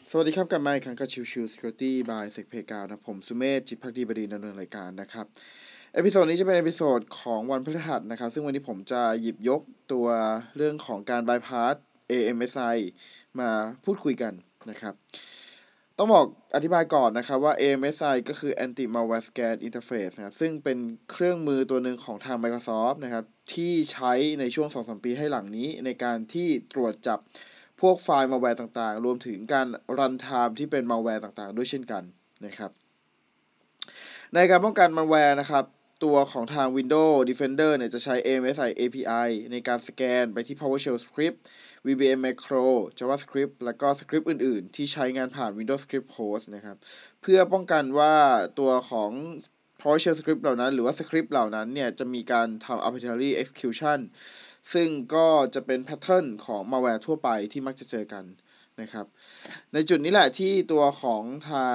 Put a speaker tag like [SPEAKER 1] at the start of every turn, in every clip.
[SPEAKER 1] สวัสดีครับกลับมาอีกครั้งกับชิว Security by SecPayGround นะผมสุเมธจิตภักดีบดินทร์ดำเนินรายการนะครับเอพิโซดนี้จะเป็นเอพิโซดของวันพฤหัสนะครับซึ่งวันนี้ผมจะหยิบยกตัวเรื่องของการ bypass AMSI มาพูดคุยกันนะครับต้องบอกอธิบายก่อนนะครับว่า AMSI ก็คือ Anti Malware Scan Interface นะครับซึ่งเป็นเครื่องมือตัวหนึ่งของทาง Microsoft นะครับที่ใช้ในช่วง 2-3 ปีให้หลังนี้ในการที่ตรวจจับพวกไฟล์ malware ต่างๆรวมถึงการ run time ที่เป็น malware ต่างๆด้วยเช่นกันนะครับในการป้องกัน malware นะครับตัวของทาง Windows Defender เนี่ยจะใช้ AMSI API ในการสแกนไปที่ PowerShell Script VBM Macro JavaScript แล้วก็สคริปต์อื่นๆที่ใช้งานผ่าน Windows Script Host นะครับเพื่อป้องกันว่าตัวของ PowerShell Script เหล่านั้นหรือว่าสคริปต์เหล่านั้นเนี่ยจะมีการทำ arbitrary execution ซึ่งก็จะเป็นแพทเทิร์นของ malware ทั่วไปที่มักจะเจอกันนะครับในจุดนี้แหละที่ตัวของทาง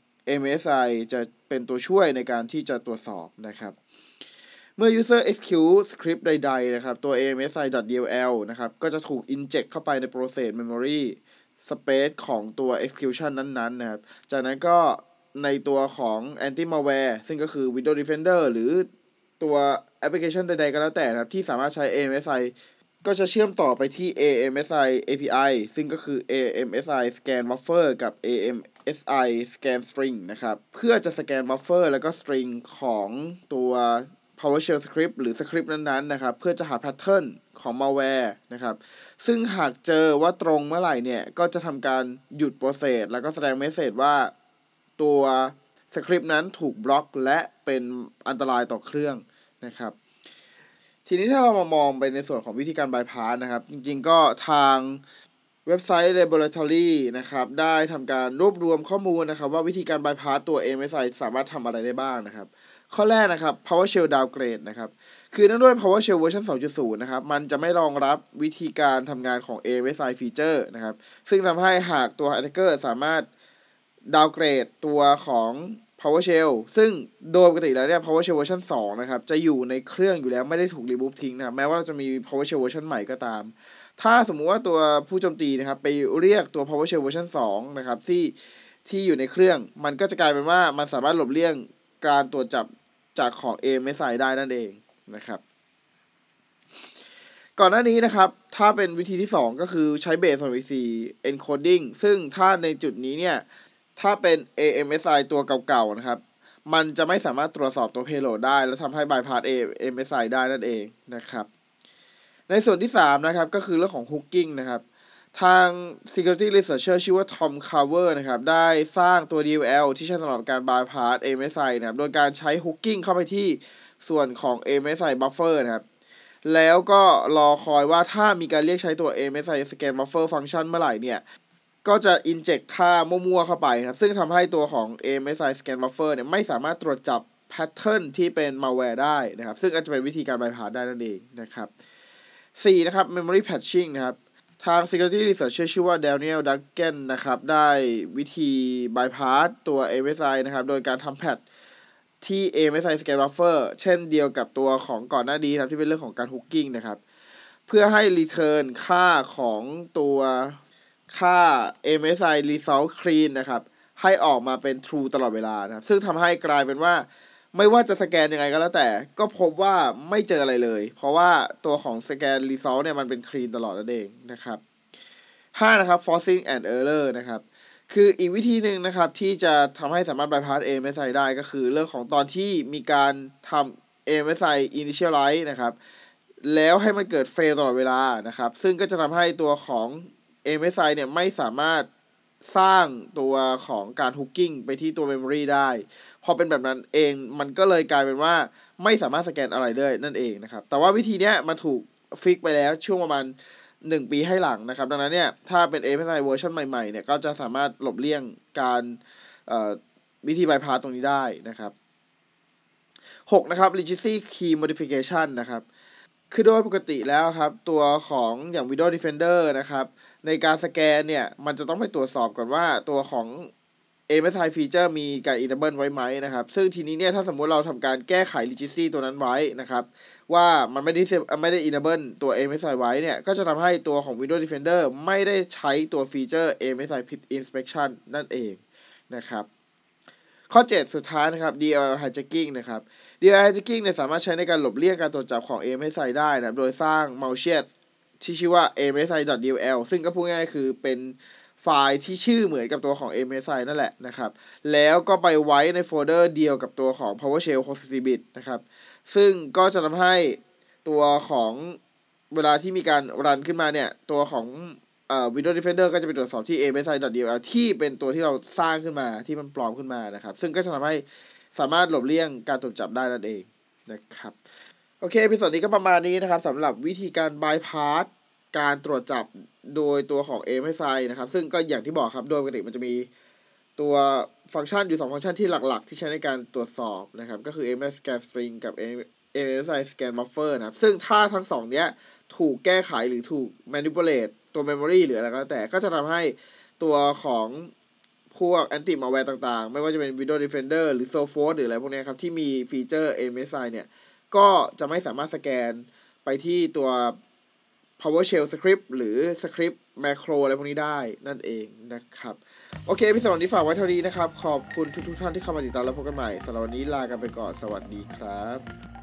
[SPEAKER 1] MSI จะเป็นตัวช่วยในการที่จะตรวจสอบนะครับเมื่อ user execute script ใดๆนะครับตัว AMSI.dll นะครับก็จะถูก inject เข้าไปใน process memory space ของตัว execution นั้นๆนะครับจากนั้นก็ในตัวของ anti malware ซึ่งก็คือ Windows Defender หรือตัวแอปพลิเคชันใดๆก็แล้วแต่นะครับที่สามารถใช้ AMSI ก็จะเชื่อมต่อไปที่ AMSI API ซึ่งก็คือ AMSI Scan Buffer กับ AMSI Scan String นะครับเพื่อจะสแกน buffer แล้วก็ string ของตัว PowerShell Script หรือสคริปต์นั้นๆนะครับเพื่อจะหา pattern ของ malware นะครับซึ่งหากเจอว่าตรงเมื่อไหร่เนี่ยก็จะทำการหยุด process แล้วก็แสดง message ว่าตัวสคริปต์นั้นถูกบล็อกและเป็นอันตรายต่อเครื่องนะครับทีนี้ถ้าเรามามองไปในส่วนของวิธีการ bypass นะครับจริงๆก็ทางเว็บไซต์ Laboratory นะครับได้ทำการรวบรวมข้อมูลนะครับว่าวิธีการ bypass ตัว MSI สามารถทำอะไรได้บ้างนะครับข้อแรกนะครับ PowerShell downgrade นะครับคือเนื่องด้วย PowerShell เวอร์ชัน 2.0 นะครับมันจะไม่รองรับวิธีการทำงานของ AMSI feature นะครับซึ่งทำให้หากตัว attacker สามารถดาวเกรดตัวของ PowerShell ซึ่งโดยปกติแล้วเนี่ย PowerShell เวอร์ชัน 2 นะครับจะอยู่ในเครื่องอยู่แล้วไม่ได้ถูก remove ทิ้งนะครับแม้ว่าเราจะมี PowerShell เวอร์ชันใหม่ก็ตามถ้าสมมุติว่าตัวผู้โจมตีนะครับไปเรียกตัว PowerShell เวอร์ชัน 2 นะครับที่อยู่ในเครื่องมันก็จะกลายเป็นว่ามันสามารถหลบเลี่ยงการตรวจจับจากของ AMSI ได้นั่นเองนะครับก่อนหน้านี้นะครับถ้าเป็นวิธีที่2ก็คือใช้ Base 2.4 encoding ซึ่งถ้าในจุดนี้เนี่ยถ้าเป็น AMSI ตัวเก่าๆนะครับมันจะไม่สามารถตรวจสอบตัว payload ได้และทำให้ bypass AMSI ได้นั่นเองนะครับในส่วนที่3นะครับก็คือเรื่องของ hooking นะครับทาง security researcher ชื่อว่า Tom Carver นะครับได้สร้างตัว DLL ที่ใช้สำหรับการ bypass AMSI นะครับโดยการใช้ hooking เข้าไปที่ส่วนของ AMSI buffer นะครับแล้วก็รอคอยว่าถ้ามีการเรียกใช้ตัว AMSI scan buffer function เมื่อไหร่เนี่ยก็จะ inject ค่ามั่วๆเข้าไปครับซึ่งทำให้ตัวของ AMSI scan buffer เนี่ยไม่สามารถตรวจจับ pattern ที่เป็น malware ได้นะครับซึ่งอาจจะเป็นวิธีการ bypass ได้นั่นเองนะครับ4นะครับ memory patching นะครับทาง security researcher ชื่อว่า Daniel Duggan นะครับได้วิธี bypass ตัว AMSI นะครับโดยการทำแพทที่ AMSI Scan Buffer เช่นเดียวกับตัวของก่อนหน้านี้นะครับที่เป็นเรื่องของการ hooking นะครับเพื่อให้ return ค่าของตัวค่า AMSI Result Clean นะครับให้ออกมาเป็น true ตลอดเวลานะครับซึ่งทำให้กลายเป็นว่าไม่ว่าจะสแกนยังไงก็แล้วแต่ก็พบว่าไม่เจออะไรเลยเพราะว่าตัวของสแกน result เนี่ยมันเป็น clean ตลอดนั่นเองนะครับ5นะครับ forcing and error นะครับคืออีกวิธีหนึ่งนะครับที่จะทำให้สามารถ bypass AMSI ได้ก็คือเรื่องของตอนที่มีการทำ AMSI initialize นะครับแล้วให้มันเกิด fail ตลอดเวลานะครับซึ่งก็จะทำให้ตัวของ AMSI เนี่ยไม่สามารถสร้างตัวของการ hooking ไปที่ตัว memory ได้พอเป็นแบบนั้นเองมันก็เลยกลายเป็นว่าไม่สามารถสแกนอะไรได้นั่นเองนะครับแต่ว่าวิธีนี้มันถูกฟิกไปแล้วช่วงประมาณ1 ปีให้หลังนะครับดังนั้นเนี่ยถ้าเป็น AMSI เวอร์ชันใหม่ๆเนี่ยก็จะสามารถหลบเลี่ยงการวิธี bypass ตรงนี้ได้นะครับ6นะครับ legacy key modification นะครับคือโดยปกติแล้วครับตัวของอย่าง Windows Defender นะครับในการสแกนเนี่ยมันจะต้องไปตรวจสอบก่อนว่าตัวของ MSI feature มีการ enable ไว้ไหมนะครับซึ่งทีนี้เนี่ยถ้าสมมุติเราทำการแก้ไข registry ตัวนั้นไว้นะครับว่ามันไม่ได้ enable ตัว MSI ไว้เนี่ยก็จะทำให้ตัวของ Windows Defender ไม่ได้ใช้ตัวฟีเจอร์ MSI PID inspection นั่นเองนะครับข้อ 7 สุดท้ายนะครับ DLL hijacking นะครับ DLL hijacking เนี่ยสามารถใช้ในการหลบเลี่ยงการตรวจจับของ MSI ได้นะโดยสร้าง malicious ที่ชื่อว่า msi.dll ซึ่งก็พูดง่ายๆคือเป็นไฟล์ที่ชื่อเหมือนกับตัวของ MSI นั่นแหละนะครับแล้วก็ไปไว้ในโฟลเดอร์เดียวกับตัวของ PowerShell 64 bit นะครับซึ่งก็จะทำให้ตัวของเวลาที่มีการรันขึ้นมาเนี่ยตัวของWindows Defender ก็จะไปตรวจสอบที่ msi.dll ที่เป็นตัวที่เราสร้างขึ้นมาที่มันปลอมขึ้นมานะครับซึ่งก็จะทำให้สามารถหลบเลี่ยงการตรวจจับได้นั่นเองนะครับโอเคพิเศษนี้ก็ประมาณนี้นะครับสำหรับวิธีการ bypass การตรวจจับโดยตัวของ MSI นะครับซึ่งก็อย่างที่บอกครับโดยปกติมันจะมีตัวฟังก์ชันอยู่2ฟังก์ชันที่หลักๆที่ใช้ในการตรวจสอบนะครับก็คือ MSI Scan String กับ MSI Scan Buffer นะครับซึ่งถ้าทั้งสองเนี้ยถูกแก้ไขหรือถูก manipulate ตัว memory หรืออะไรก็แล้วแต่ก็จะทำให้ตัวของพวก anti malware ต่างๆไม่ว่าจะเป็น Windows Defender หรือ Sophos หรืออะไรพวกนี้ครับที่มีฟีเจอร์ MSI เนี่ยก็จะไม่สามารถสแกนไปที่ตัว PowerShell script หรือ script macro อะไรพวกนี้ได้นั่นเองนะครับโอเคพี่สำหรับวันนี้ฝากไว้เท่านี้นะครับขอบคุณทุกท่านที่เข้ามาติดตามแล้วพบกันใหม่สำหรับวันนี้ลากันไปก่อนสวัสดีครับ